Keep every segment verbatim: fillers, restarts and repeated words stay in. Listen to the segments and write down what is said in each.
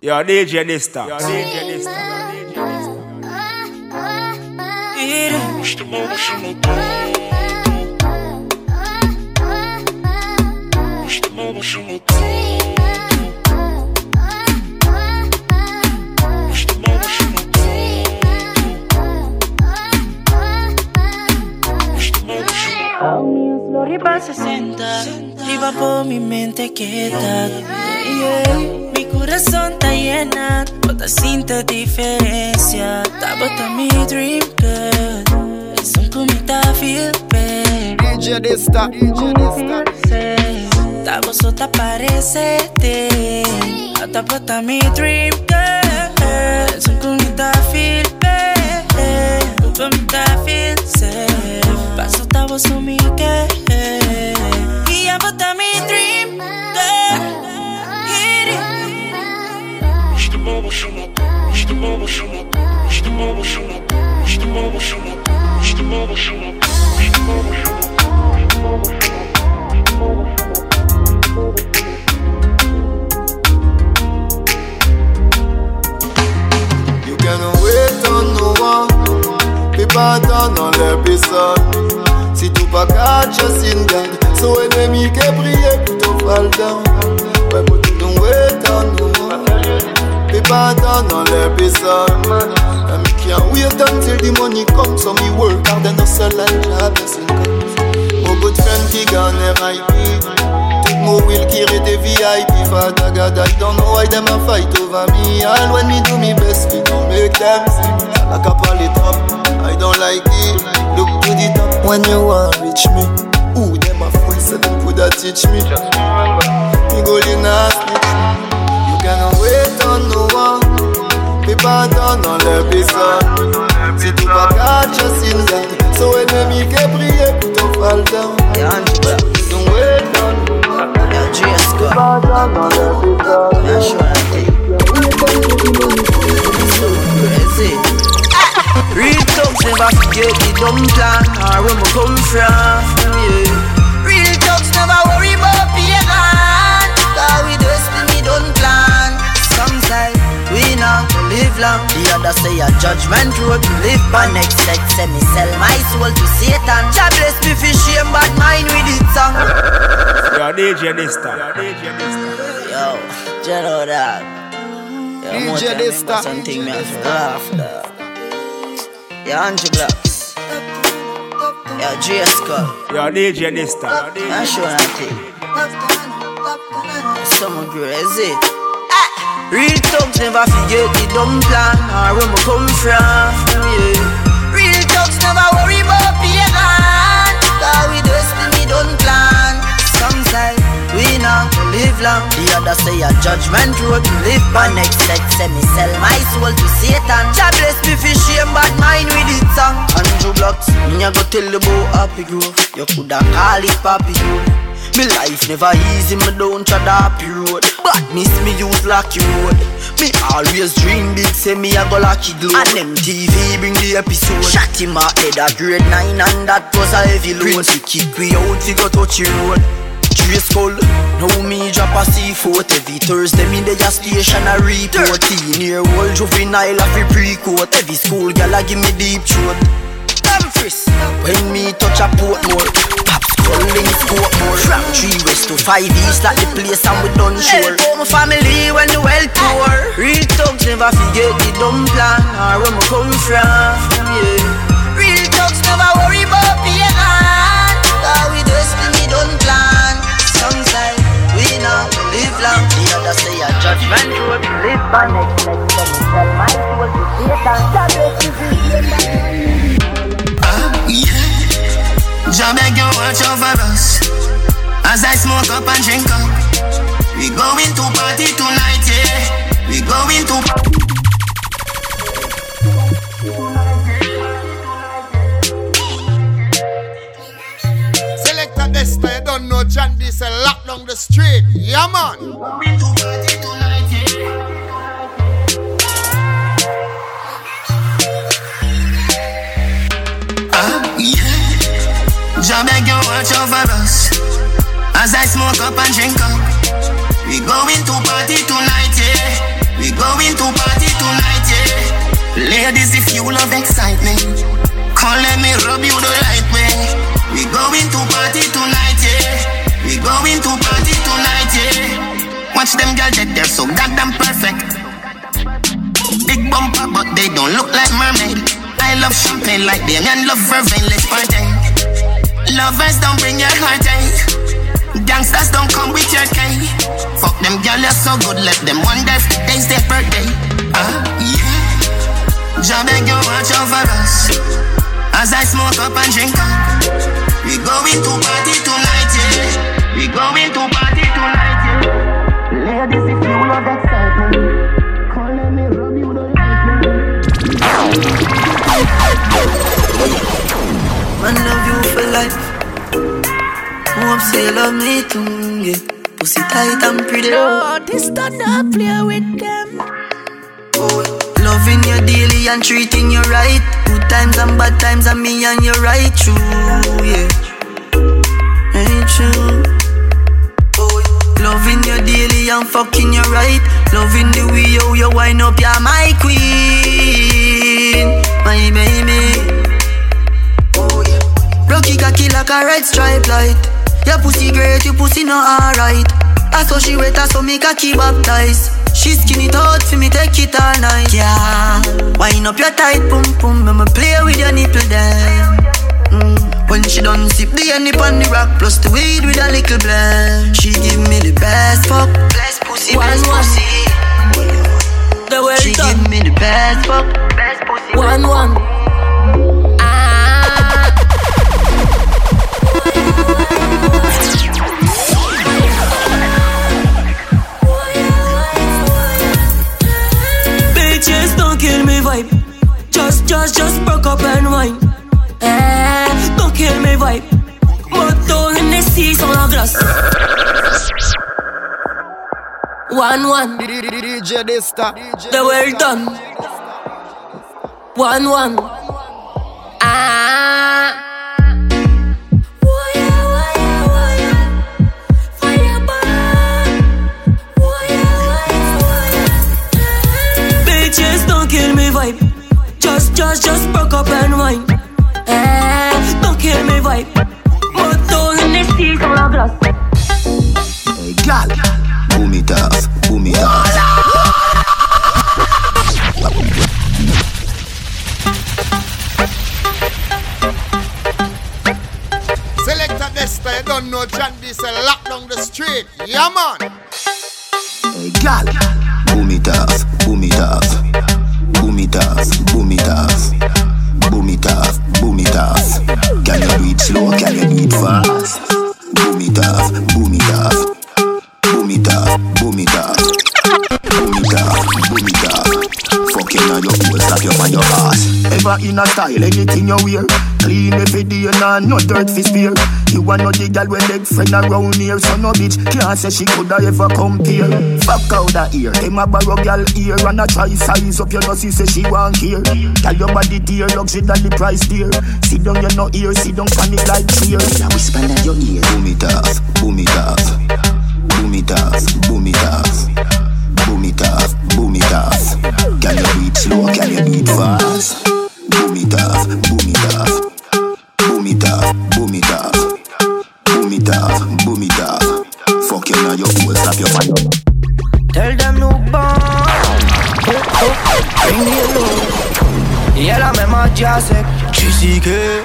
Yo, D J Dysta. Yo, D J Dysta. Floripa sesenta, arriba por mi mente quieta. Yeah. Mi corazón está llena, otra cinta diferencia. Tabata mi dream girl, es un comita feel bad. D J Dysta, D J Dysta. Tabo sota parece te, tabata mi dream girl, es un comita feel bad. Un comita feel safe, paso tabo su mi que. Y abota mi dream girl. İşte baba şunu, işte baba şunu, işte baba şunu, işte baba şunu, işte baba şunu, işte baba şunu, işte baba şunu. You cannot wait on no one. People attendent leur personne. Si tout pas catch us in God, so ennemi qui brille plutôt fall down. Ouais, but you don't wait on no one. People attendent leur personne. And me can't wait until the money comes, so me work hard and hustle and job blessing comes. Mon good friend qui gagne R I P. Tout mon will qui rete V I P. Father God, I don't know why them a fight over me. All when me do me best, we don't make them see. Like a polytrop, I don't like it. Look to the top when you want reach me. Ooh, them a fool, so them coulda teach me. Me go in a snitch. You cannot wait on no one. People attendent leur personne. Si tout pas catch us in God, so ennemi qui brille plutôt fall down. Don't wait on no one. People attendent leur personne. Real talks never forget the dumb plan or where we come from, yeah. Real talks never worry about pagan, cause we destiny don't plan. Some say we not live long, the other say a judgment road to live by. Next sex say me sell my soul to Satan. God bless me for shame bad mind with it song. Yo, D J Dysta. Yo, D J Dysta. Yo, you know that. Yo, D J Dysta. something me have to laugh that. Yo, Angie Blocks. Yo, J Skull. Yo, D J Dysta. I'm sure I think someone crazy. Real thugs never forget the dumb plan or where we come from, yeah. Real thugs never worry about pagan, cause we destiny don't plan. Some say we not live long, the other say a judgment road to live by. Next sex say me sell my soul to Satan. God bless me for shame bad mind with it song. Andrew Blocks, me a go tell you about Happy Grove. You coulda call it Papi Grove. Me life never easy, me don't try the happy road. But miss me use lucky road. Me always dream big, say me a go lucky glow. And M T V bring the episode. Shot him a head a grade nine and that was a heavy load. Prince we kick we out, we go touch the road. Trace skull, now me drop a C four. Every Thursday me dey a station a report. Thirteen year old juvenile a free pre-court. Every school gal a give me deep throat. Dumfries, when me touch a port more. Calling scope more. From three west to five east like the place and we done sure. Help out my family when the well poor. Real thugs never forget the dumb plan or where we come from, yeah. Real thugs never worry about pagan, cause we destiny don't plan. Some say we not live long, the other say a judgment road to live by. Next next time we sell my soul to Satan. God bless you. Jah beg you watch over us as I smoke up and drink up. We going to party tonight, yeah. We going to Selecta Dysta, you don't know John this a lock down the street. Yeah man. We going to party tonight, yeah. Ah, yeah. Jah beg you watch over us as I smoke up and drink up. We going to party tonight, yeah. We go going to party tonight, yeah. Ladies, if you love excitement, come let me rub you the right way. We going to party tonight, yeah. We going to party tonight, yeah. Watch them girls get there so goddamn perfect. Big bumper, but they don't look like mermaid. I love champagne like them and love vervain, let's party. Lovers don't bring your heartache. Gangsters don't come with your cane. Fuck them girls, you're so good, let them wonder if today's their birthday. Ah, uh, yeah. Jah beg you watch over us as I smoke up and drink up. We going to party tonight, yeah. We going to party tonight, yeah. Ladies, if you love excitement, come let me rub you the right way. Man love you for life. Hope say you love me too, yeah. Pussy tight and pretty. No, this don't not play with them. Oh, loving you daily and treating you right. Good times and bad times and me and you right true, yeah. Ain't true. Oh, loving you daily and fucking you right. Loving the way you, you wind up, you're my queen, my baby. Rocky cocky like a red stripe light. Your pussy great, your pussy not alright. I saw she wet, I saw me cocky baptized. She skin it out for me, take it all night. Yeah, wind up your tight pum pum, I'ma play with your nipple then. mm. When she done sip the honey on the rock, plus the weed with a little blend. She give me the best fuck, best pussy, one, best one. pussy. The well She done. give me the best fuck, best pussy, one, best one. Bitches don't kill me vibe. Just, just, just broke up and wine. Eh, don't kill me vibe. Moto Hennessy sur la glace. One, one. D J Dysta. The well done. One, one. Ah. Bitches don't kill me vibe. Just, just, just broke up and wine. Eh, don't kill me vibe. Moto Hennessy sur la glace. Hey, gal, boom it off, boom it off. Selector Dysta, you don't know John this a lock down the street. Yeah, man. Hey, gal, boom it off, boom it off. Boom it off, boom it off. Boom it off, boom it off. Can you do it slow, can you do it fast? Boom it off, boom it off. Boom it off, boom it off. Boom it off, boom it off. Fucking on your hole, slap you on your ass. Ever in a style, anything you wear. Clean every day, nah, no dirt fi spear. You want no the girl with leg friend around here. So no bitch can't say she coulda ever compare. Fuck out that ear, them a borrow girl ear. And a try size up your nose, say she want care. Tell your body dear, luxury that the price dear. Sit down, you no ear, sit down, panic like fear. Now whisper in your ear. Boom it off, boom it off. Boom it off, boom it off. Boom it off, boom it off. Can you do it slow, can you do it fast? Boom it off, boom it off. Boom it off, boom it off. Boom it off, boom it off. Fuck you now, your hole, slap your man up. Tell them no bond. Bring me alone. Y'a la même adjacent. Tu sais que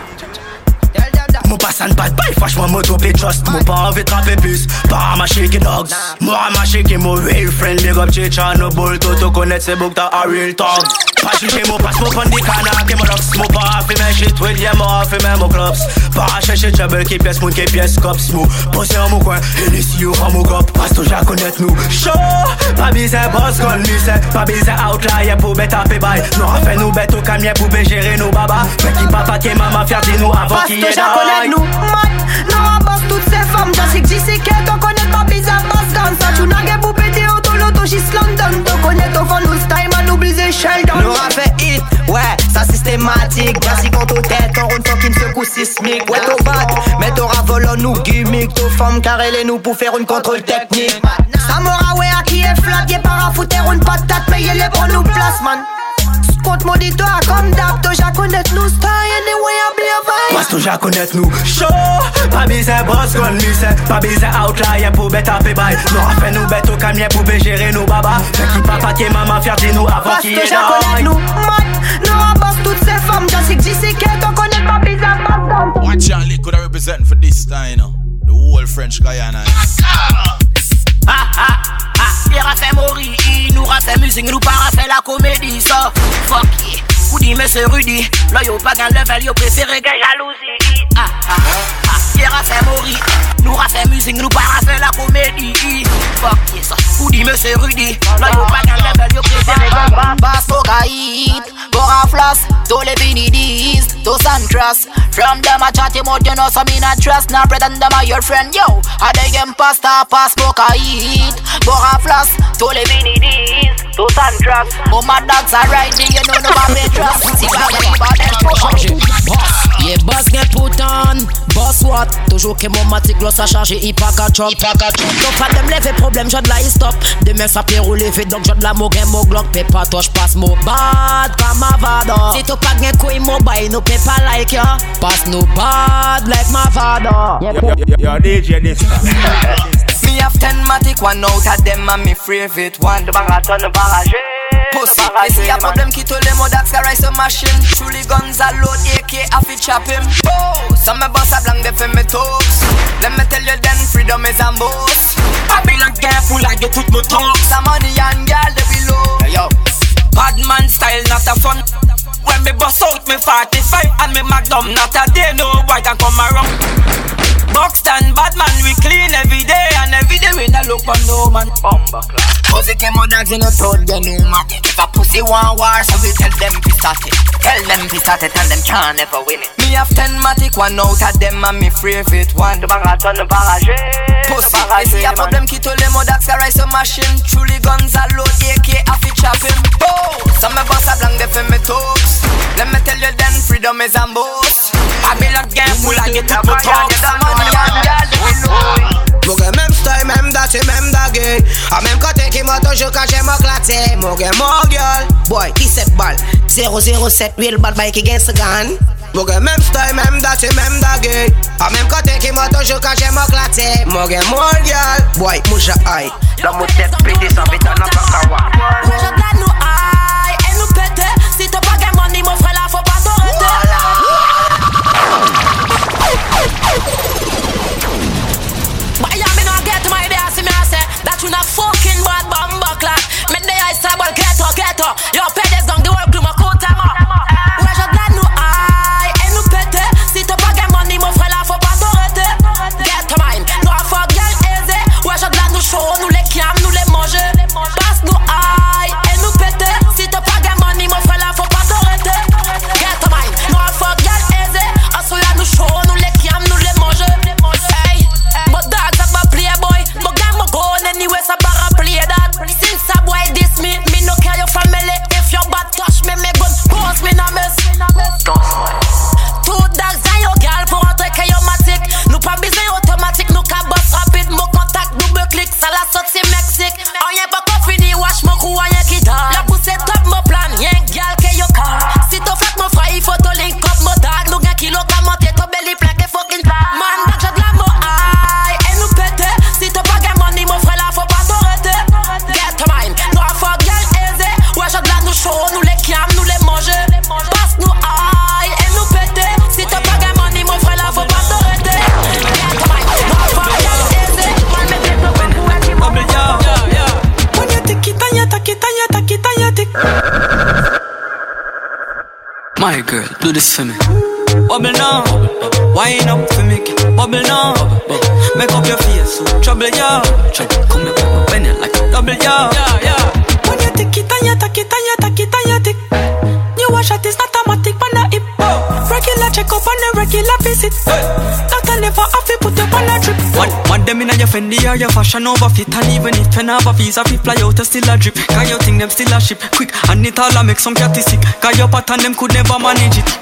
mon passe en bad boy, franchement moi trop trust. Moi pas envie de trapper plus, pas ma shaky dogs. Moi ma shaky, mon real friend. Big up Chicha, no bull, tout te connaître c'est book ta a real talk. Pas chercher mon passe, mon prendre des canards, qui mon locks. Moi pas fait mes shit, with yeah, moi fait mes mon clubs. Pas chercher trouble, qui pièce, moun qui pièce, cops. Moi posé en mon coin, et les si ou en mon cop. Passe toujours à connaître nous. Show, pas bizarre, boss gun, lycée. Pas bizarre, outlier pour bête à payer. Nous a fait nous bête au camion pour gérer nos babas. Mais qui papa, qui maman, faire de nous avant qu'il y ait d'arrêt. Nous, mat, non, on bosse toutes ces femmes. J'en sais que j'y sais qu'elle t'en connaît pas bizarre, basse comme ça. Tu n'as qu'à pour péter auto, l'auto, j'y London. T'en connais ton fan, nous style, man, oublie Sheldon. Nous a fait hit, ouais, ça systématique. Merci quand ton tête, ton round fucking secoue sismique. Ouais, t'au bat, mais t'auras volant nous gimmick. T'aux femmes, car elle est nous pour faire une contrôle technique. Samora, ouais, à qui est flat, y'a pas à foutre une patate. Payer les pour nous place man. Compte mon dit toi comme d'hab, toi j'ai connaît nous style anyway I be a vibe. Parce que j'ai connaît nous show, pas besoin boss gun lycée, pas besoin outlier pour bête à fait bail. Nous a fait nous bête au camion pour gérer nos baba. Fait qui papa qui maman fier de nous avant qu'il y ait parce que j'ai connaît nous man, nous a boss toutes ces femmes, j'en sais que j'y sais qu'elle t'en connaît pas bizarre pas. Watch out, could I represent for this time, you know? The whole French Guyana. Ah ah ah, il a fait mourir, nous a fait musique, nous pas fait la comédie, ça. Fuck yeah, Koudi monsieur Rudy, là yo pas gain level, yo préféré gain jalousie. Ah ah ah, il a fait mourir, nous a fait musique, nous pas fait la comédie. Fuck yeah, ça. Koudi monsieur Rudy, là yo pas gain level, yo préféré gain. Passe au gaïd, Bora Floss, tous les Benidis, tous Santras. From them I chat him out, you know some me not trust. Now pretend them are your friend, yo. I dey game pasta, pass smoke I eat. Bora Floss, tous les Benidis, tous Santras. Oh my dogs are riding, you know no one may trust. See what I about them boss, yeah boss get put on. Boss what? Toujours que mon matic gloss a chargé, il pas qu'à chop. Donc pas de me lever problème, j'ai de la stop. Demain ça peut rouler vite, donc j'ai de la mo game mo glock. Pay pas toi, j'passe mo bad, pas ma vada. Si tu pas gain couille mo bail, nous pay pas like ya. Pass no bad like my father. Yo, D J Dysta. Me have ten matic, one out of them and me favorite one. The marathon, the barrage. Pussy, me see a problem ki to le modax ka rise a machine. Truly guns a load, A K a fi chop him. Oh, some me boss a blank de fe me talks. Let me tell you then freedom is a must. I be like careful I get tout me talks. Some money and girl they below. Yo, bad man style not a fun. When me bust out me forty-five and me magnum, not a day no boy can come around. Buxton bad man we clean every day and every day we no look for no man. Bumba class. Pussy came out dogs in the throat, they no matter. If a pussy want war, so we tell them to start it. Tell them to start it and them can't never win it. Me have ten matic, one out of them and me favorite one. The marathon, the barrage. Pussy, me see a problem ki to le modax ka rise a machine. Truly guns a load, A K a fi chop him. Oh, some me boss a blank de fe me talks. Let me tell you then freedom is a must. I be like game full I get up to talk. The money and girl they below. Moge même style, même date, même dague. A même côté qui m'a toujours caché m'a claté. Moge mon girl, boy, dix-sept balles. zéro zéro sept, real bad bike against the gun. Moge même style, même date, même dague. A même côté qui m'a toujours caché m'a claté. Moge mon girl, boy, mouja aïe. Dans mon tête pété sans vite à n'a pas kawa. Moi je garde nous aïe et nous pété. Si t'as pas gain money mon frère là faut pas t'arrêter. But yeah, me not get to my idea, see me I say that you not fucking bad bamba class. Me the ice table ghetto ghetto. Yo pedes down the whole glue my coat time up. Ouais je garde nous aïe et nous pété. Si t'as pas gain money mon frère là faut pas t'arrêter. Get to mine, nous a fuck girl easy. Ouais je garde nous show, nous les cam, nous les manger. Passe nous aïe et nous pété. Si t'as pas gain money mon frère là faut pas t'arrêter. Get to mine, nous a fuck girl easy. Asso y'a nous show, nous les cam, nous les manger. Hey, but dogs have a playboy. But game mo go anyway, so bara play that. Since a boy diss me, me no care your family. If your bad touch me, me gun pose me na mess. Two dogs and your girl pour entrer que yo matic. Nous pas besoin automatique, nous ka boss rapide. Mon contact double click, ça la sortie Mexique. Rien pas qu'on fini, wash mon cou, rien qui dort. La pousse est top, mon plan, rien girl que yo car. Si t'as fait mon frère, il faut te link up mon tag. Nous gain kilo ka monter, ton belly plein que fucking tag. Man, dog j'ai de la mo aïe et nous pété. Si t'as pas gain money, mon frère là faut pas t'arrêter. Get to mine, nous a fuck girl easy. Ouais j'ai de la nous show, nous les cam, nous les manger. Passe nous aïe et nous pété. Si t'as pas gain money, mon frère là faut pas t'arrêter. Get to mine, nous a fuck girl easy. Man me get no one who a keep up. When you take it and you take it and you take it and you take it. My girl, do this for me. Bubble now, wine up for me. Bubble now, make up your face, so trouble ya. Trouble, come here, come bend it like a double ya. When you take it and you take it and you take it and you take. You wash it, it's not automatic, but not hip. Regular check up and a regular visit. Not a never have to put up on a trip. One, one them in your Fendi or your fashion over fit. And even if you have a visa, we fly out, still a drip. Cause you think them still a ship. Quick, and it all a make some catty sick. Cause your pattern them could never manage it.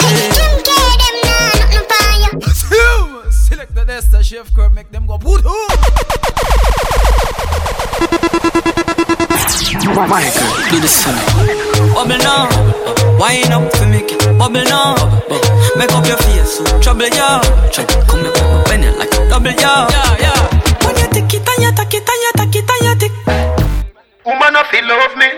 Select the Dysta chef curve, make them go boot. My girl, do this for me. Bubble now, wine up for me. Bubble now, make up your face, so trouble ya. Trouble, come here, come bend it like a double ya. Yeah, yeah. When you tick it and you tack it and you tack it and you tick. Woman, if you love me.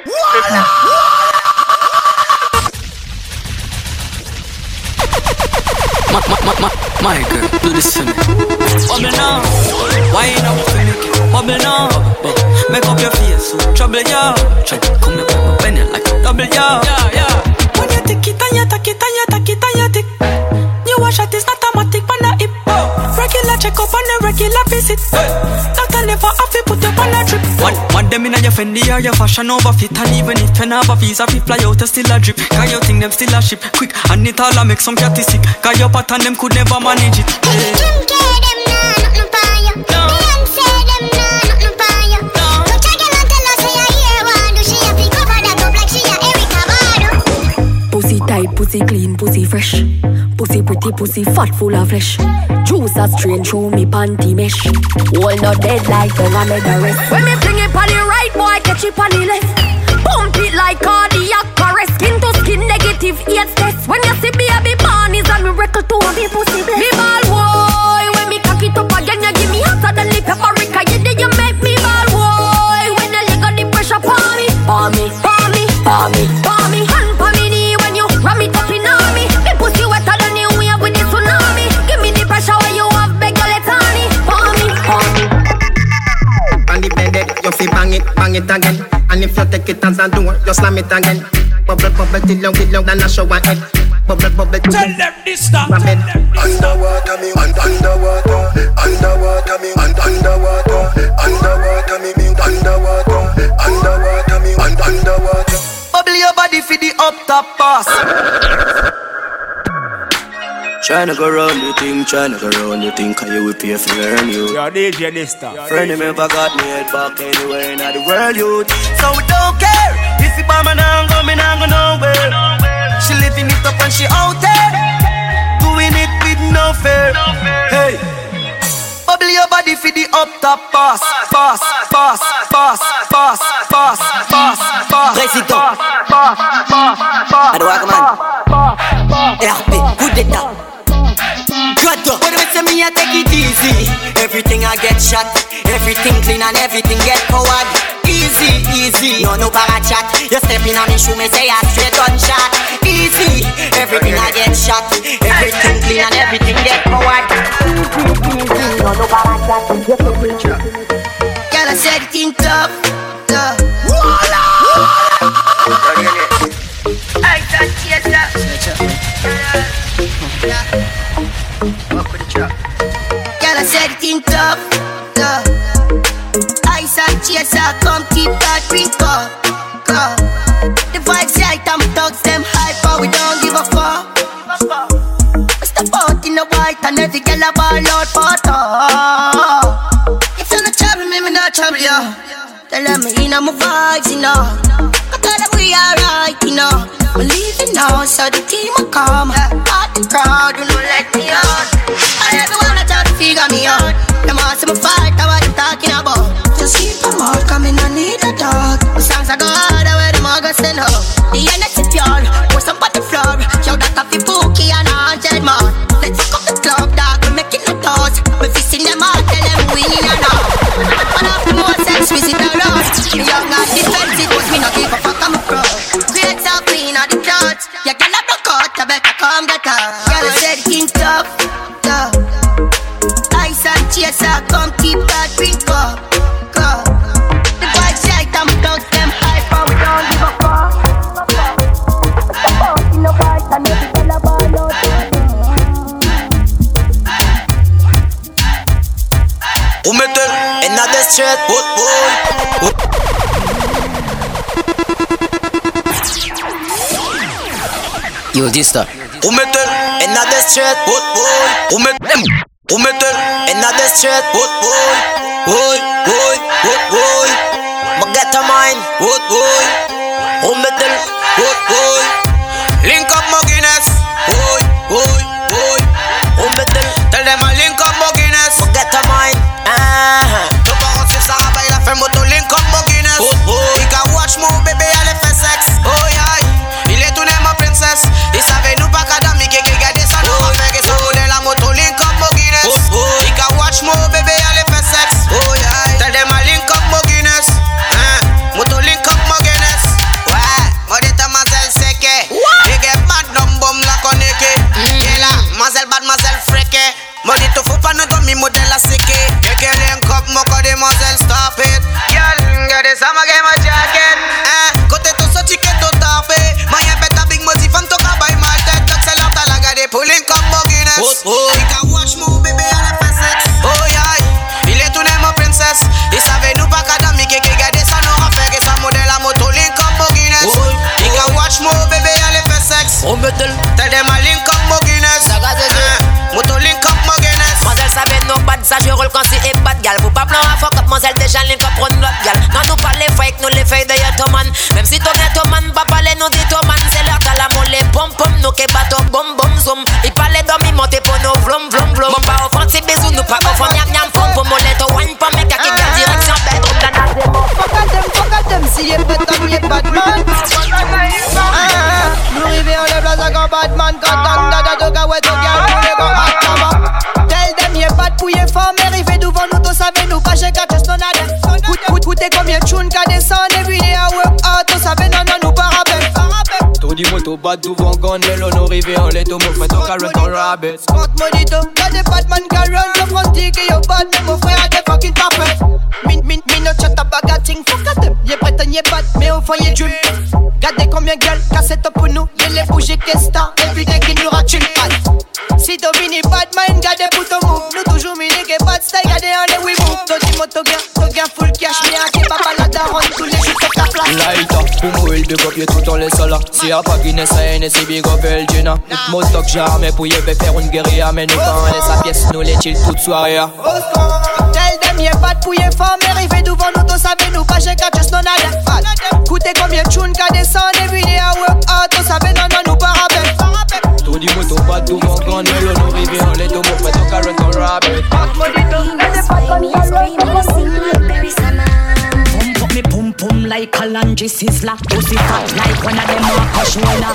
My, my, my, my, my girl, do this for me. Bubble now, wine up for me. Bubble now, make up your face, so trouble ya. Trouble, come here, come bend it like a double ya. Yeah, yeah. When you tick it and you tack it and you tack it and you tick. You wash it, it's not automatic, but not hip. Regular check up and a regular visit. Doctor never have to put up on a trip. One, one them in your Fendi or your fashion over fit. And even if you never visa, if fly out, you still a drip. Cause you think them still a ship. Quick, and it all a make some catty sick. Cause your pattern them could never manage it. Them care them nah, not no fire. Beyonce them nah, not no fire. So check it and tell us say I hear one. Do she a pick up that up like she a Erykah Badu. Pussy tight, pussy clean, pussy fresh. Pussy pretty, pussy fat, full of flesh. Juice a strain through me panty mesh. All not dead like tongue I made the rest. When me fling it on the right, boy catch it on the left. Pump it like cardiac arrest. Skin to skin negative eight test. When you see baby born is a miracle to me pussy bless. Me ball boy, when me cock it up again you give me hotter than the paprika. You did you make me ball boy. When you leg on the pressure for me, for me, for me, for me, for me. Hand for me knee when you ram it up in on me. Me pussy wetter than you wave with the tsunami. Give me the pressure when you have beg your let on me, for me, for me. On the bed, you feel bang it, bang it again. And if you take it as a door, you slam it again. Bubble, bubble, till you get loud and I show my head. Bubble, bubble, tell them this stuff. Underwater me, un- underwater, underwater me, un- underwater, underwater me, me, underwater, underwater me, un- underwater. Bubble your body for the up top pass. Tryna go round the thing, tryna go round the thing, cause you will pay for learn you. Yo, D J Dysta. Friend him ever got me head back anywhere in the world, you. So we don't care if you buy me now, go me now, go nowhere. She living it up and she out there, doing it with no fear. Hey, bubble your body for the up top pass, pass, pass, pass, pass, pass, pass, pass. Président, Adouak man, R P, coup d'état. God, when we say me I take it easy. Everything I get shot, everything clean and everything get forward. Easy, easy, no no para chat. You step in on me shoe, me say I straight gunshot. Easy, everything I get shot, everything clean and everything get forward. Easy, easy, no no para chat. You step in chat. Girl, I said it in tough, tough. Voila! I can't chase that. Walk with the trap. Girl, I said it in tough, tough. Ice and chaser, come keep that drink up, up. The vibes right and thugs them hype, but we don't give a fuck. Step out in the white and every girl a ball out photo. If you're not trouble me, me not trouble you. Tell them me in my vibes, you know. I tell them we alright, you know. We're leaving now, so the team will come. Out the crowd, you know, let me out. And everyone I try to figure me out. Them all see me fight, that's what I'm talking about. Just keep them out, coming, I need a dog. The songs I go harder where them all go send up. The energy pure, pour some on the floor. Yo, that coffee bookie and a hundred more. Let's fuck up the club, dog, we're making the toast. We're fisting them out, tell them we in and out. One of the most sex visit the road. Me young and defensive, but me not give a fuck, I'm a pro. Great self clean on the clothes. You cannot block out, I better come get out. Girl, I said king tough, tough. Ice and chaser, come keep that drink up, up. The vibes right and we don't them hype, but we don't give a fuck. Step out in the white and every girl a ball out. Who made it? Another straight, boy, boy. Yo, Dysta. Who made it? Another straight, boy, boy. Who made them? Who made it? Another straight, boy, boy. Boy, boy, boy, boy. Magata mine, boy, boy. Who made it? Boy, boy. Link up my Guinness, boy, boy, boy. Who made it? Tell them I link up my Guinness. Magata mine, ah. No parents si ça va, il a fait moto link up my Guinness. Boy, boy. modèle à séquer. Et qu'elle link up, mon corps demoiselle, stop it. Girl, regardez ça, ma game, ma jacket. Hein, côté tout ça, tu qu'es tout tapé. Ma y'a bête à big motif, femme, tout cas, by my tête. Tout c'est l'heure, t'as la gardé pour link up, mon Guinness. Oh, oh. Il can watch mon bébé à la facette. Oh, yeah, il est tout né, mon princesse. Il savait nous pas qu'Adam, il qu'est gardé ça, nous a fait. Et sa modèle à moto, link up, mon Guinness. Oh, il can watch mon bébé à la facette. Oh, mettez tell them a link up, mon Guinness. Moto link up, mon Guinness. Mademoiselle savait nos bad, ça je roule quand c'est et bad gal. Faut pas plan à fuck up, mademoiselle déjà link up, run l'autre gal. Non, nous pas les fake, nous les fake de Yatoman. Même si ton ghetto man, pas parler nous dit to man. C'est l'heure qu'à la molle, pom pom, nous qui battons, bom bom zoom. Il parlait d'homme, monter pour nous, vlom vlom vlom. Bon, pas offensif, bisous, nous pas confondre, yam yam fom. Pour moller, to one pom, mais kaki garde direction bête, on donne à des mots. Fuck at them, fuck at them, si y'a pas de temps, y'a pas de man. Nous rivez, on lève la sac en Batman. Quand on a da toga, ouais, toga, nous les gars, attends. Tell them, y'a pas de pouille fort, mais rivez devant nous, tous savez, nous pas chez Kates, non à dem. Coutez combien de chounes qu'a descend, every day I work hard, tous savez, non, non, nous pas rappel. Tout dit moto, bat devant gun, mais l'on nous rivez, on les tomo, fait ton carrot, ton rabbit. Scott Monito, y'a des Batman qui run, le front dit que y'a bad, mais mon frère a des fucking parfaits. Min, min, min, no chat à bagating, fuck at them, y'a prétend, y'a bad, mais au fond y'a dream. Gardez combien de gueules, cassette pour nous, y'a les bougies qui star, every day qui nous ratchule pas. Si Domini bad mind, gardez pour ton move, nous toujours mini qui bad style, gardez en les we move. Toti moto gain, to gain full cash, mais à qui papa la daronne, tous les jours sur ta place. Light up, pour mourir, big up, y'a tout en les sols. Si y'a pas Guinness, a N S, c'est big up, Elgina. Tout mon stock jamais pour y faire une guérilla, mais nous quand on laisse sa pièce, nous les chill toute soirée. Tell them y'a pas de pouille fort, mais rivez devant nous, tous savez, nous pas chez Kates, non à dem. Coutez combien de chounes qu'a descend, every day I work hard, tous savez, non, non, nous pas rappel. Tout dit moto, bat devant gun, mais l'on nous rivez, on les tomo, fait ton carrot, ton rabbit. Pump up me pum pum like a lunge sizzler. Pussy fat like one of them a shoulder.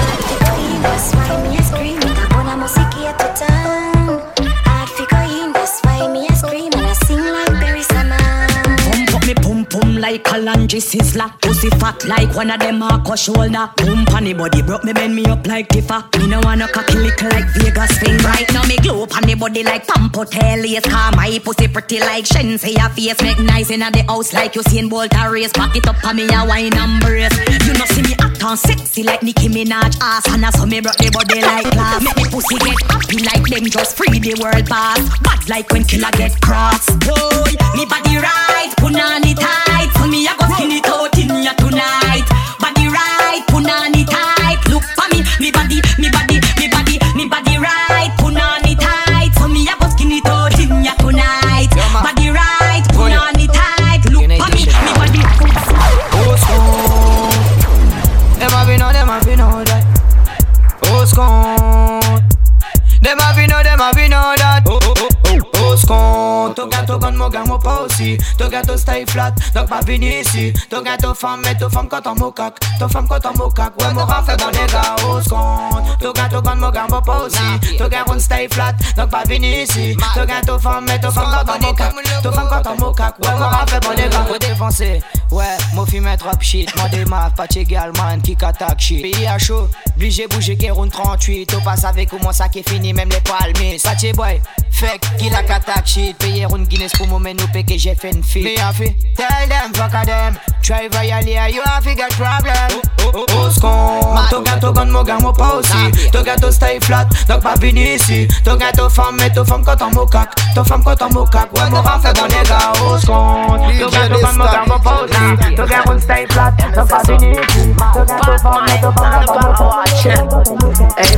That's why me a scream, I wanna music at the time. I'd figure in, that's why me a scream and I sing like Barry Salmon. Pump up me pum pum like a lunge sizzler. Pussy fat like one of them a shoulder. Pump on the body broke me bend me up like Tifa. Me no wanna cocky lick like Vegas thing. Right now me glow up on the body like Pampotel. Yes, car my pussy pretty like Shen. Say your face make nice in the house like you seen Bolt a race. Pack it up on me a wine and brace. You know see me act on sexy like Nicki Minaj ass. And so me broke the body like glass. Make me pussy get happy like them just free the world pass. Bad like when killer get cross. Boy, me body right, put on it tight. So me a go skin it out in ya tonight. Body right, put on it tight. Look for me, me body, me body, me body, me body right, put on it tight. So me a go skin it out in ya tonight. Body right, put on it tight. Look for me, me body. Oh, school. Them have been on, them have been on that. Oh, school. Them have been on, them have been on that. Oh, oh, oh, oh, school. Ton gâteau gun, mon gars, mon pas aussi. Ton gâteau stay flat, donc pas venir ici. Ton gâteau femme, mais ton femme quand on mocac. Ton femme quand on mocac, ouais, mon rang fait bon les gars. Oh, school. Ton gâteau gun, mon gars, mon pas aussi. Ton gâteau stay flat, donc pas venir ici. Ton gâteau femme, mais ton femme quand on mocac. Ton femme quand on mocac, ouais, mon rang fait bon les gars. Faut défoncer, ouais, mon film est trop shit. Mon démarre, pas égal, man, qui attaque shit. Pays à chaud, obligé bouger, qui roule trente-huit. T'as pas avec comment ça qui est fini, même les palmiers. Saché boy, fake, qui la attaque shit. Payer une Guinness pour moment, nous paye que j'ai fait une fille. Mais en fait, tell them, fuck a them. Try violate, you have a got problem. Oh, oh, oh, scon. Ton gâteau gun, mon gars, mon pas aussi. Ton gâteau stay flat, donc pas venir ici. Ton gâteau femme, mais ton femme quand on mocac. Ton femme quand on mocac, ouais, mon rang fait bon les gars. Oh, scon. Ton gâteau gun, mon gars, mon pas aussi. Ton gâteau stay flat, donc pas venir ici. Ton gâteau femme, mais ton femme quand on mocac. Hey,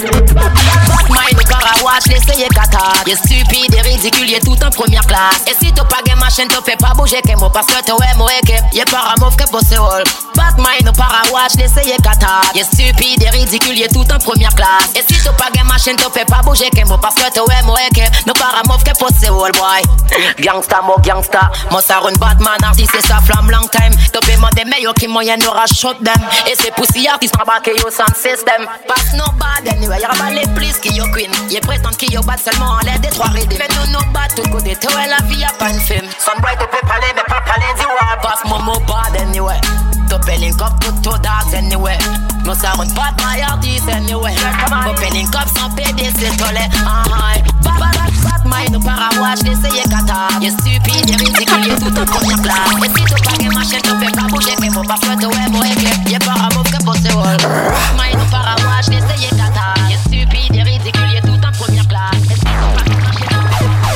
Mind au Parawash, l'essayer kata. Y'a stupide et ridicule, y'a tout en première classe. Et si t'as pas gain machine, t'as fait pas bouger que moi. Parce que t'as ouais, moi, que y'a paramouv que pour ce rôle. Back mind au Parawash, l'essayer kata. Y'a stupide et ridicule, y'a tout en première classe. Et si t'as pas gain machine, t'as fait pas bouger que moi. Parce que t'as ouais, moi, que nous paramouv que pour ce rôle, boy. Gangsta, mo gangsta. Moi, ça run Batman, artiste, c'est sa flamme long time. T'as paiement des meilleurs qui moyen n'aura shot them. Et c'est poussière qui se rabaque yo sans système. Passe no bad anyway, y'a pas les plus qui yo queen. Y'a prétend qui yo bad seulement en l'air des trois rides. Mais nous no bad tout côté, toi la vie y'a pas une film. Sunbright tu peux parler, mais pas parler du war. Passe mon mot bad anyway. T'as payé une cop tout tout dogs anyway. Nous ça run pas my artist anyway. T'as payé une cop sans P D c'est tolé. Ah ah. Bad bad bad mind au parawash, d'essayer kata. Y'a stupide, y'a ridicule, y'a tout en première classe. Et si t'as pas game machine, t'en fais pas bouger, mais faut pas faire de web, ouais, ouais. Y'a paramouv que bossé wall. Mind au parawash, d'essayer kata. Y'a stupide, y'a ridicule, y'a tout en première classe. Et si t'as pas game machine, t'en fais pas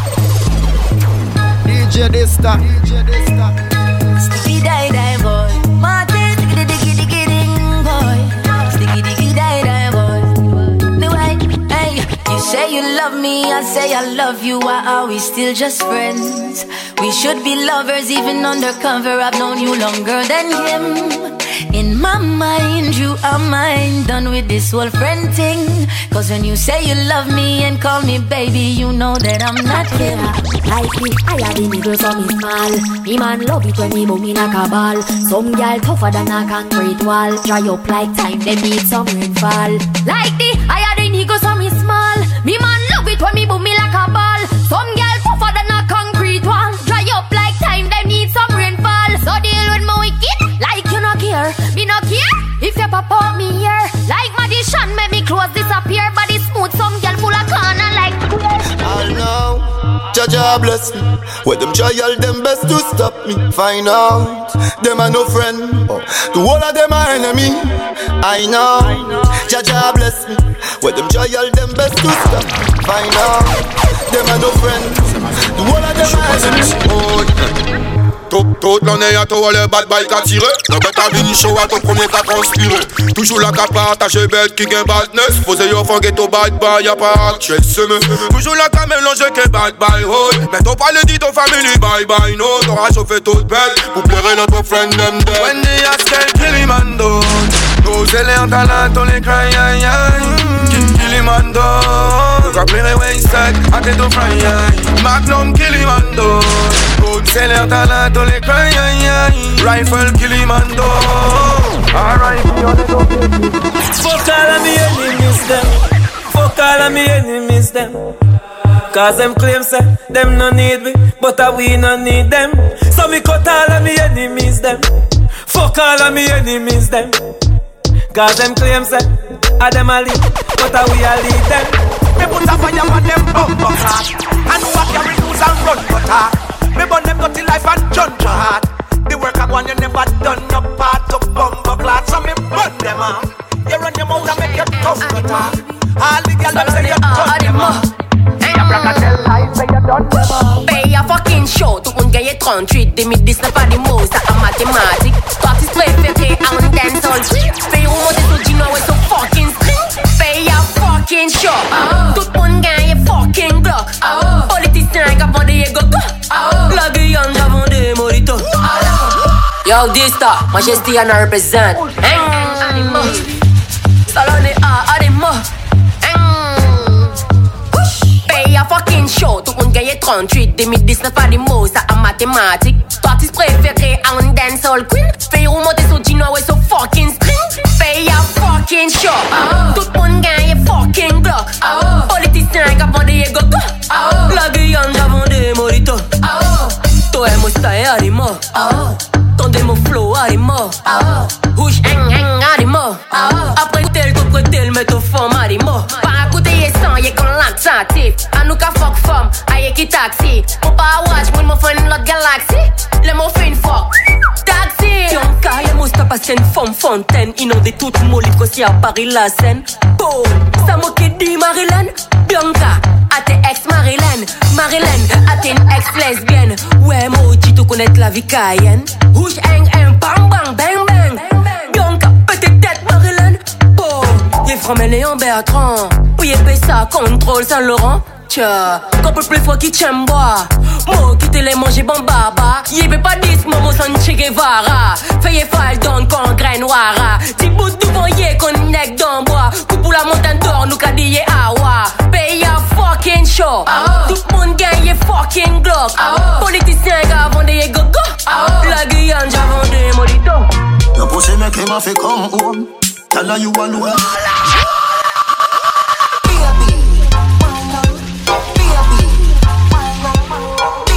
bouger. D J Dista, D J Dista. Sticky die die boy, Martin, sticky diggy diggy ding boy, sticky diggy die die boy. No way, hey, you say you love me, I say I love you. Why are we still just friends? We should be lovers even undercover. I've known you longer than him. In my mind, you are mine. Done with this whole friend thing. Cause when you say you love me and call me baby, you know that I'm not him. Like me, I had the needles on me small. Me man love it when me boom in a cabal. Some girl tougher than a concrete wall. Dry up like time, they need some rainfall. Like the, I had the needles on me small. Me man love it when me boom in like a ball. Some girl tougher than a concrete wall. Dry up like time, they need some rainfall. So deal with my wicked, like you no care. Me no care if you pop out me here. Like magician, make me clothes disappear. Body smooth, some girl full of corner like I know, Jaja bless me. Where them try all them best to stop me. Find out, them are no friend. Oh, the whole of them are enemy. I know, Jaja bless me. Where them try all them best to stop me. Find out, them are no friends. The whole of them are enemy. Oh, toute l'année à toi le bad bike à tirer. Non mais t'as venu chaud à ton premier qu'à transpirer. Toujours là qu'à partager bête qui gagne badness. Posez yo forget au bad boy y'a pas actuel semaine. Toujours là qu'à mélanger que bad boy hold. Mais t'as pas le dit ton family bye bye no. T'auras chauffé toute bête pour plaire notre friend them dead. When they ask elle Kilimando, nos élèves talent on les cry aïe aïe. Kilimando, t'as plaire wayside à tes deux fry aïe. Magnum Kilimando, nos élèves talent on les cry aïe aïe. Rifle Kilimando, alright we on the go. Fuck all of me enemies them. Fuck all of me enemies them. Cause them claim say them no need me, but uh, we no need them. So me cut all of me enemies them. Fuck all of me enemies them. Cause them claim say a them a lead, but uh, we a lead them. Me put a fire on them bumper cars and walk carry news and run butter. Me burn them dirty life and judge your heart. The work I want you never done no part of bumper clots. So me burn them off. You run your mouth and make your tough butter. All the girls them say you done them off. Pay a fucking show, tout moun gagne trente-huit. deux mille dix-neuf pas des mots, ça en mathématiques. Parties préférées en dancehall. Pay ou monter sur Gino et sur fucking string. Pay a fucking show, tout moun gagne fucking block. Politiciens qui a vendu des gogo. La Guyane a vendu des moritos. Yo, Dista, Majesty and I represent. Salone a Ademo. Pay a fucking show, tout moun gagne trente-huit. deux mille dix-neuf pas des mots, ça en mathématiques. Parties préférées en dancehall queen. Pay ou monter sur Gino et sur fucking string. Pay a fucking show, tout moun gagne fucking block. Politiciens qui a vendu des gogo. La Guyane a vendu des moritos. Toi et moi style animo. Ton démo flow animo. Rouge hang hang animo. Après tel tout tel met au fond animo. Par écouter yé sang yé con laxatif. A nous ka fuck femme, a yé qui taxi. Mon pas watch, moun mo fin l'autre galaxie. Le mo fin fuck taxi. Tionka yé mousta passe une femme fontaine. Inondé toute molite qu'aussi à Paris la Seine. Oh, ça mo qui dit Marilyn. Bianca, a tes ex Marilyn. Marilyn, a tes ex lesbienne. Ouais, moi tu te connais la vie cayenne. Rouge hang hang bang bang bang bang. Bianca, petite tête Marilyn. Oh, yé Framel en Bertrand. Oui, yé ça contrôle Saint-Laurent. Tcha, couple plus fort qui t'aime boire. Moi qui te l'ai mangé bon baba. Yé veut pas dis momo sans Che Guevara. Fais fall don con grain noira. Ti bout devant yé con nec dans bois. Coupe pour la montagne d'or nous kadie awa. Pay a fucking show. Tout le monde gagne fucking glock. Politiciens qui vendent des gogo. La Guyane j'ai vendu molito. Your pussy make him a fi come home. Tell her you alone.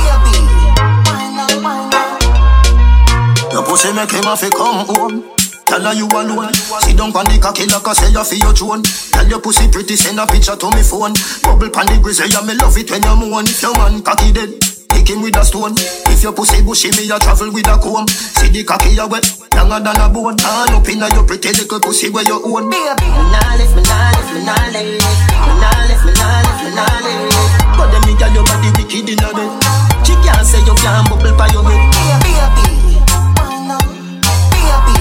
Your pussy make him a fi come home. gyal you alone. Sit down pon the cocky like I say you feel your throne. Tell your pussy pretty, send a picture to me phone. Bubble pon the grizzly, yeah me love it when you moan. If your man cocky dead, kick him with a stone. If your pussy bushy, me a travel with a comb. See the cocky a wet, younger than a bone. All up inna your pretty little pussy where you own. Me nah lift, me nah lift, me nah lift, me nah lift, me nah lift, me nah lift. But them me gyal your body wicked inna bed. She can't say you can't bubble by your head. Baby, baby.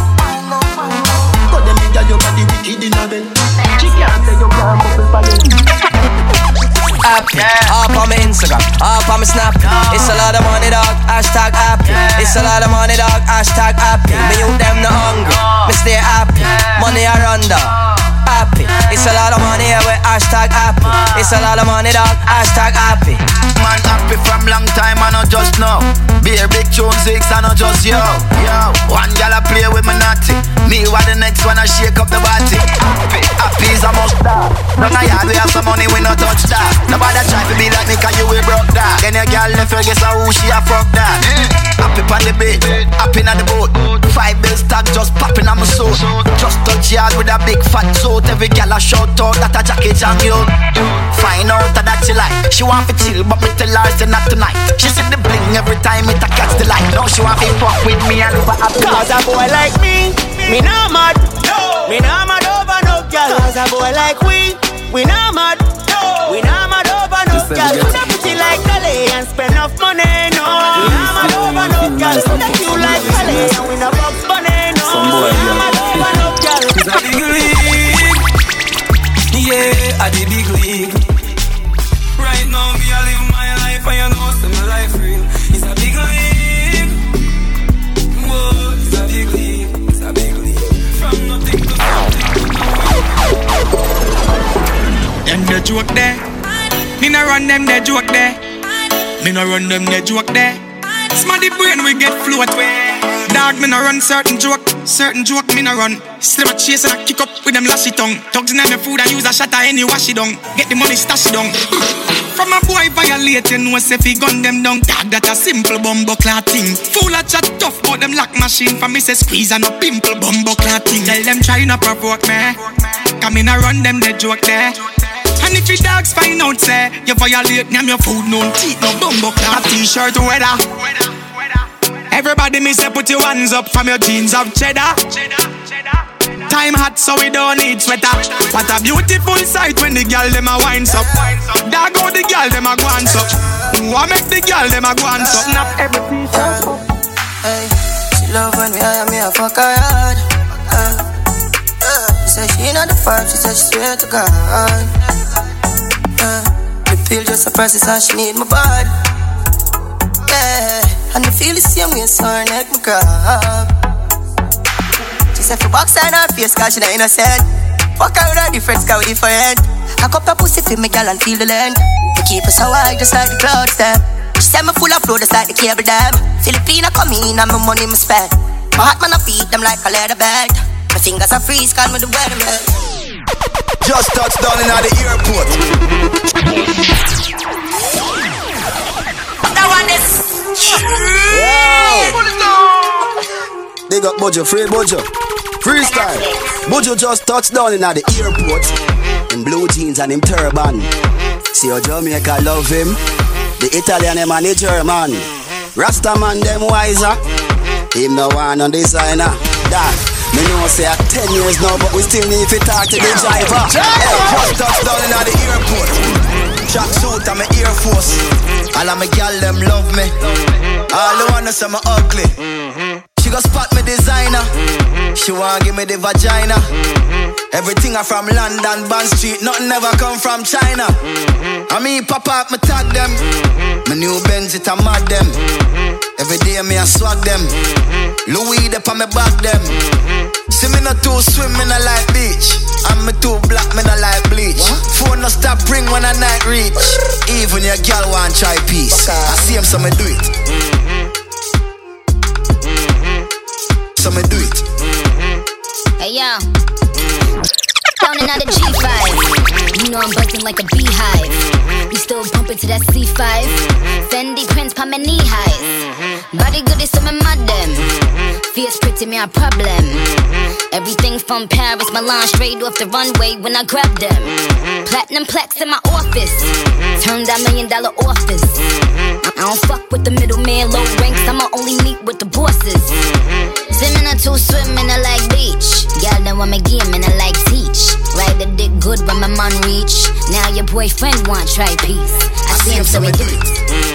But them me gyal your body wicked inna bed. She can't say you can't bubble by your head. App, up on my Instagram, up on my Snap. It's a lot of money, dog. Hashtag app. It's a lot of money, dog. Hashtag app. Me you them no hungry. Me stay happy. Money I run down. Happy. It's a lot of money with hashtag happy. It's a lot of money, dog. Hashtag happy. Man happy from long time, I not just now. Be a big tune six, I not just yo. Yo, one gal I play with me naughty. Me what the next one I shake up the body. Happy, happy is a must start. Don't I yard we have some money, we no touch that. Nobody try to be like me, cause you we broke that. Then your gal left her, guess who she a fuck that. Happy on the bed, happy on the boat. Five bills tag just popping on my soul. Just touch yard with a big fat suit. Every gal a shout out that a jacket on you. Find out that she like. She want to chill, but me tell her say not tonight. She see the bling every time it a catch the light. Now she want to fuck with me and over a cause a boy like me, me not mad. No. Me not mad over no girl. Cause a boy like we, we not mad. No. We not mad over no girl. Could have pretty like Calais and spend enough money. No. We not mad over no girl. Could have cute like Calais and we not box money. No. We not mad over no girl. It's a big league. Yeah, at the big league. Right now, me I live my life and you know see my life real. It's a big league. Whoa, it's a big league. It's a big league. From nothing to something. Them the joke there. Me no run them the joke there. Me no run them the joke there. Smarty brain we get float way. Dog me no run certain joke, certain joke me no run. Still a chase and I kick up with them lashy tongue. Dogs in my food and use a shatter any wash it down. Get the money stash it down. From a boy violate you know say fi gun them down. Dog that a simple bumbo clot thing. Full of chat tough but them lock machine. For me say squeeze and no pimple bumbo clot thing. Tell them try not provoke me. Come in and run them the joke there. And if your dogs find out say you violate them your food no teeth no bumbo clot. A t-shirt weather. Everybody me say put your hands up from your jeans of cheddar. Time hot so we don't need sweater. What a beautiful sight when the girl dem a winds up. Dog go the girl dem a go hands up. What make the girl dem a go hands up? Snap every t-shirt. Hey, she love when me hire me a fuck her hard. Uh, uh, she say she not the farm, she say she swear to God. Uh, the pill just a process and she need my body. Yeah. And I feel the same way, so her neck me grab. She said for box on her face, cause she not innocent. Fuck her with her difference, cause we different. I cup her pussy for me, girl, and feel the land. I keep her so high, just like the clouds, them. She said me full of flow, just like the cable dam. Filipina come in, and my money me spend. My heart man, I feed them like a leather belt. My fingers are freeze, call me the weatherman. Just touched down in the airport. That one is Big up Bojo, free Bojo. Freestyle. Bojo just touched down in the airport. In blue jeans and him turban. See how Jamaica love him. The Italian him and the German. Rasta man them wiser. Him no one on designer. That me know say at ten years now, but we still need to talk to the driver. Hey, just touched down in the airport. Track suit and my Air Force. All of my gal them love me. All the wanna say me ugly. She go spot me designer. She wanna give me the vagina. Everything I from London, Bond Street. Nothing ever come from China. I mean pop up, me tag them. My new Benz it a mad them. Every day me a swag them. Louis up on me back them. See me not too swim, me not like beach. And me too black, me not like bleach. Phone no stop ring when a night reach. Even your girl want try peace. I see him so me do it. So me do it. Hey yo, down in the G five. You know I'm buzzing like a beehive. You still bumping to that C five. Fendi prints pa my knee highs. Body good is some of my them. Fierce pretty me a problem. Everything from Paris, Milan, straight off the runway when I grab them. Platinum plaques in my office. Turn that million dollar office. I don't fuck with the middleman, low ranks. I'ma only meet with the bosses. Swimming or two, swimming I like beach. Y'all know I'm a game and I like teach. Ride the dick good when my man reach. Now your boyfriend want try peace. I, I see him so he do it.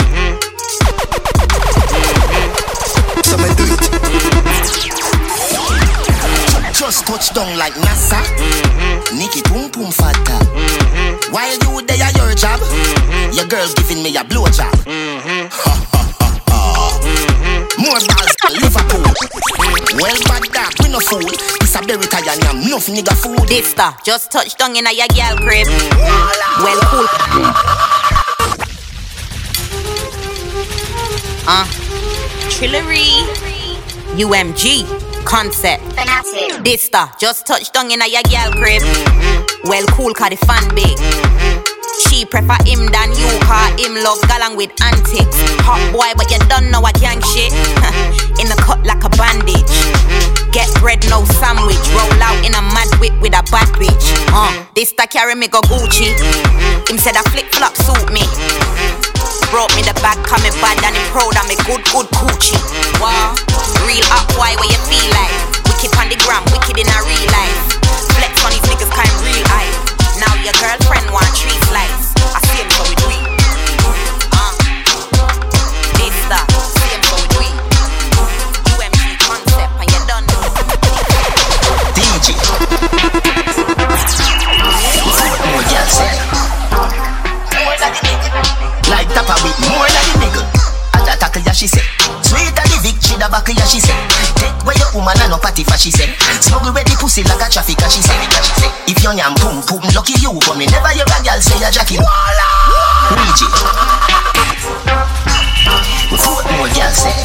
So me do it. Just touch down like NASA. Nikki boom boom fatta. While you there your job, your girl giving me a blow job. More balls than Liverpool. Well bad dog, we no fool. This a berry tie and I'm enough nigga food. This star just touched down in a your girl crib. Well cool. Uh, Trillery, U M G, concept. This star just touched down in a your girl crib. Well cool, cause the fan big. She prefer him than you, cause him love galang with antics. Hot boy, but you don't know a gang shit. In the cut like a bandage. Get bread, no sandwich. Roll out in a mad whip with a bad bitch. Uh, this da carry me go Gucci. Him said a flip flop suit me. Brought me the bag, coming bad and him proud of me good, good coochie. Wow, real up boy, where you feel like? Wicked on the gram, wicked in a real life. Flex on these niggas, kind real eye. Now your girlfriend want three slice. I see him so we do it. Uh, this that, see him so we do it. U M G concept and you done. D J. More girl say. Like Tapa with more than the nigga. At a tackle ya she say. Sweet at the Vic, she da back ya she say. Take where your woman and no party for she say. Smuggle with the pussy like a traffic she say. If you yam boom boom, lucky you. But me never hear a girl say a Jackie. Reach it. Foot more girl say.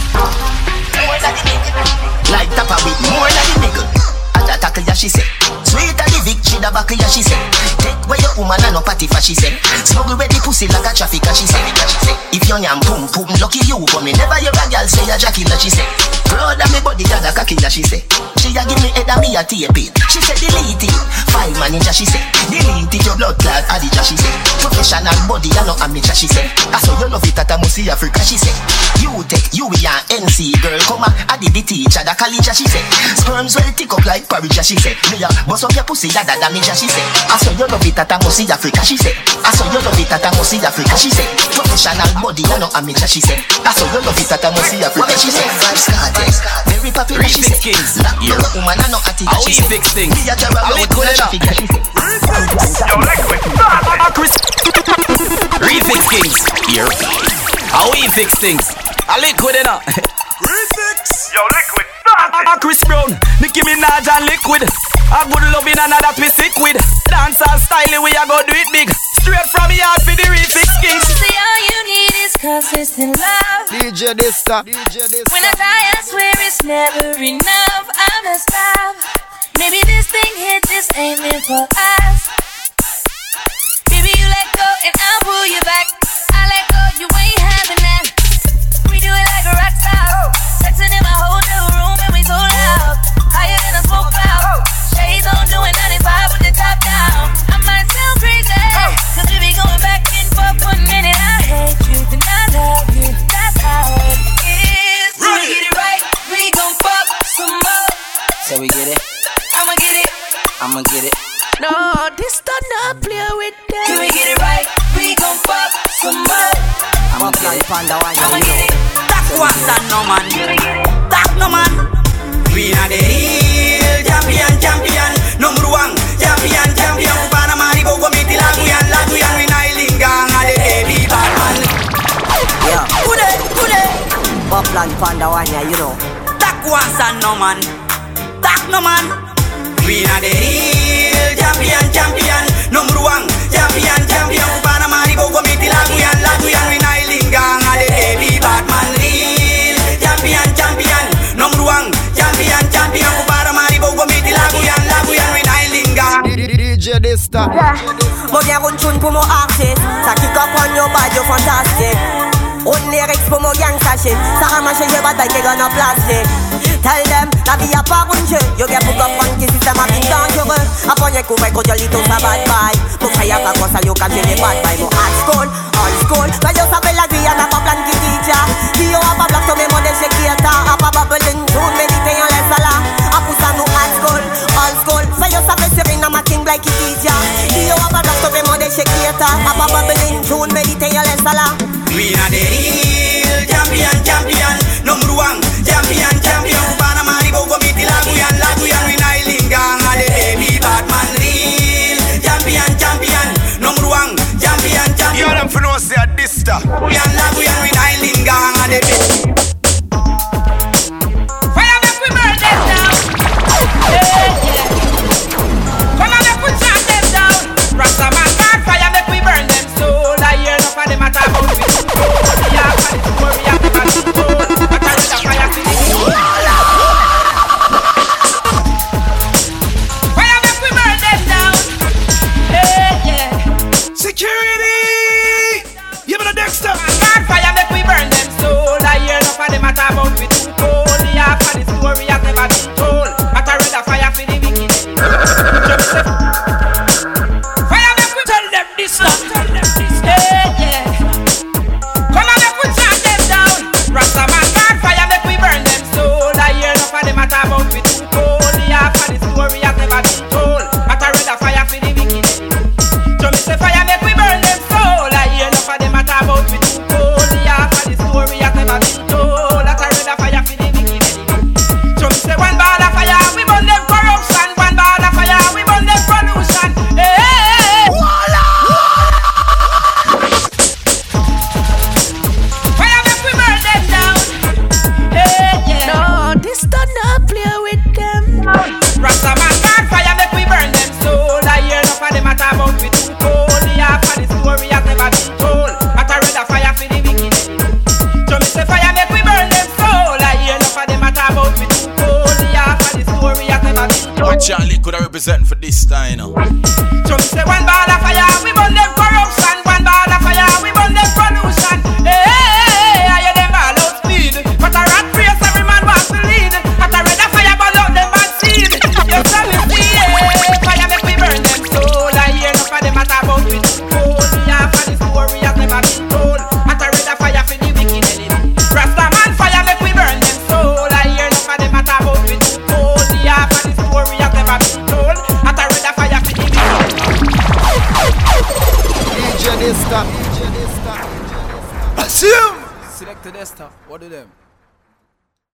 Like Tapa with more than the nigga. At a tackle ya she say. Sweet at the Vic, she da back ya she say. Take where your woman and no party for she say. Smuggle with the pussy like a traffic she say. If you yam boom boom, lucky you. But me never hear a girl say a Jackie she say. Proud of me body got a cocky she say. She a give me head and me a tape it. She say delete it. Five manager she say. Delete it your blood clot adija she say. Professional body and no amateur she say. I saw you love it at a Musi Africa she say. You take you we an N C girl come a adi the teacher the college she say. Sperms well tick up like porridge she say. Me a bust up your pussy that the damage she say. I saw you love it at a Musi Africa she say. I saw you love it at a Musi Africa she say. Professional body and no amateur she say. I saw you love it at a Musi Africa she say. Very popular she say. Your woman and no attic she say. Fix things. Me a jara round with a traffic she say. Yo, liquid, stop! Chris Refix Kings, here. How we fix things? A liquid enough. Refix. Yo, liquid, stop! Chris Brown, Nicki Minaj and Liquid. A good loving and that we sick with. Dancehall style, we a go do it big. Straight from the heart for the Refix Kings. She say all you need is consistent love. D J Dista. D J Dista. When I die, I swear it's never enough. I'm a stop. Maybe this thing hit just ain't meant for us. Baby, you let go and I'll pull you back. I let go, you ain't having that. We do it like a rock star. Sexing in my whole new room and we so loud. Higher than a smoke cloud. Shades on doing ninety-five with the top down. I might sound crazy, cause we be going back and forth for a minute. I hate you, then I love you. That's how it is. Till we get it right, we gon' fuck some more. So we get it? I'ma get it. I'ma get it. No, this does not play with that. Till we get it right, we gon' fuck some more. I'ma get it. I'ma get it. That was that no man. That no man. We are the real champion, champion. Number one, champion, champion. Panama, Rico, Committee, Laguyan, Laguyan, Winailing, Gang, and the baby Batman. Yeah. Kude, kude. Poplan Panda Wanya, you know. That was that no man. That no man. We are the real champion, champion. Number one, champion, champion. Panama, Rico, Committee, Laguyan, Laguyan, Winailing, Gang, and the baby Batman. Real champion, champion. Number one, champion, champion. Panama, Rico, Committee, Laguyan, Laguyan, Winailing, Gang. D J Desta. Moi viens run tune pour mon artiste. Ça kick up on your body, you fantastic. On lyrics pour mon gang sachet. Ça ramache j'ai bataille qui gagne en plastique. Tell them, la vie a pas un jeu. You get book up on qui système a bien dangereux. Après y'a couvert quand y'a l'ito sa bad bye. Mon frère y'a pas quoi ça y'a qu'à j'ai bad bye. Mon hard school, all school. Mais yo savais la vie y'a n'a pas plan qui teacher. Qui yo a pas block sur mes modèles chez qui est a pas babbling tune. Méditer y'en laisse là. A pousse à nous hard school, all school. Mais yo savais Serena ma king like qui teacher. Qui yo a pas block sur mes modèles chez qui est a pas babbling tune. Méditer y'en laisse là. We are the real champion, champion. Number one, champion, champion. Panama, Ribo, Committee, Laguyan, Laguyan. We nailing gang, and the baby Batman. Real champion, champion. Number one, champion, champion. You them for no say a Dista. Laguyan, Laguyan. We nailing gang, and the baby. Fire make we burn them down. Yeah, yeah. Come on, make we chant them down. Rastaman God, fire make we burn them soul. I hear enough of them at about it. Security! You better Dexter! God fire make we burn them soul. I hear enough of them at about we too cold. The half of the story has never been told. But I read a fire for the wicked. Fire make we tell them this stuff. Tell them this stuff. Yeah, yeah. Come on make we chant them down. Rastaman God fire make we burn them soul. I hear enough of them at about we too cold. The half of the story has never been told. But I read a fire for the wicked. So me say fire make we burn them soul. I hear enough of them at about we too cold. The half of the story has never been told. That I read a fire for the wicked. So me say one ball of fire, we burn them corruption. One ball of fire, we burn them pollution. Hey, hey, hey. Fire make we burn them down. Hey, yeah. No, this don't not play with them. Rastaman God fire make we burn them soul. I hear enough of them at about we too cold. The half of the story has never been told. But I read a fire for the wicked. So me say fire make we burn them soul. I hear enough of them at about we too cold. The half of the story has never been told. What Charlie could I represent for this time, you know? So me say one ball of fire, we burn them corruption. One ball of fire, we burn them pollution. Hey, hey, hey, I hear them ball out speed. But a rat race, every man wants to lead. But I read a fire ball out them bad seed. You tell me see, hey, fire make we burn them soul. I hear enough of them at about we too cold. The half of the story has never been told. But I read a fire for the wicked enemy. Rastaman fire make we burn them soul. I hear enough of them at about we too cold. The half of the story has never been told. But I read a fire for the wicked. D J Desta. Assume! Select the Desta. What do them?